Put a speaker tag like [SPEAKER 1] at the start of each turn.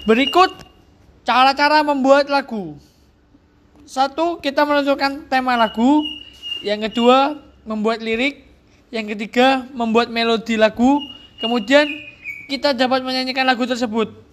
[SPEAKER 1] Berikut cara-cara membuat lagu. Satu, kita menentukan tema lagu. Yang kedua, membuat lirik. Yang ketiga, membuat melodi lagu. Kemudian kita dapat menyanyikan lagu tersebut.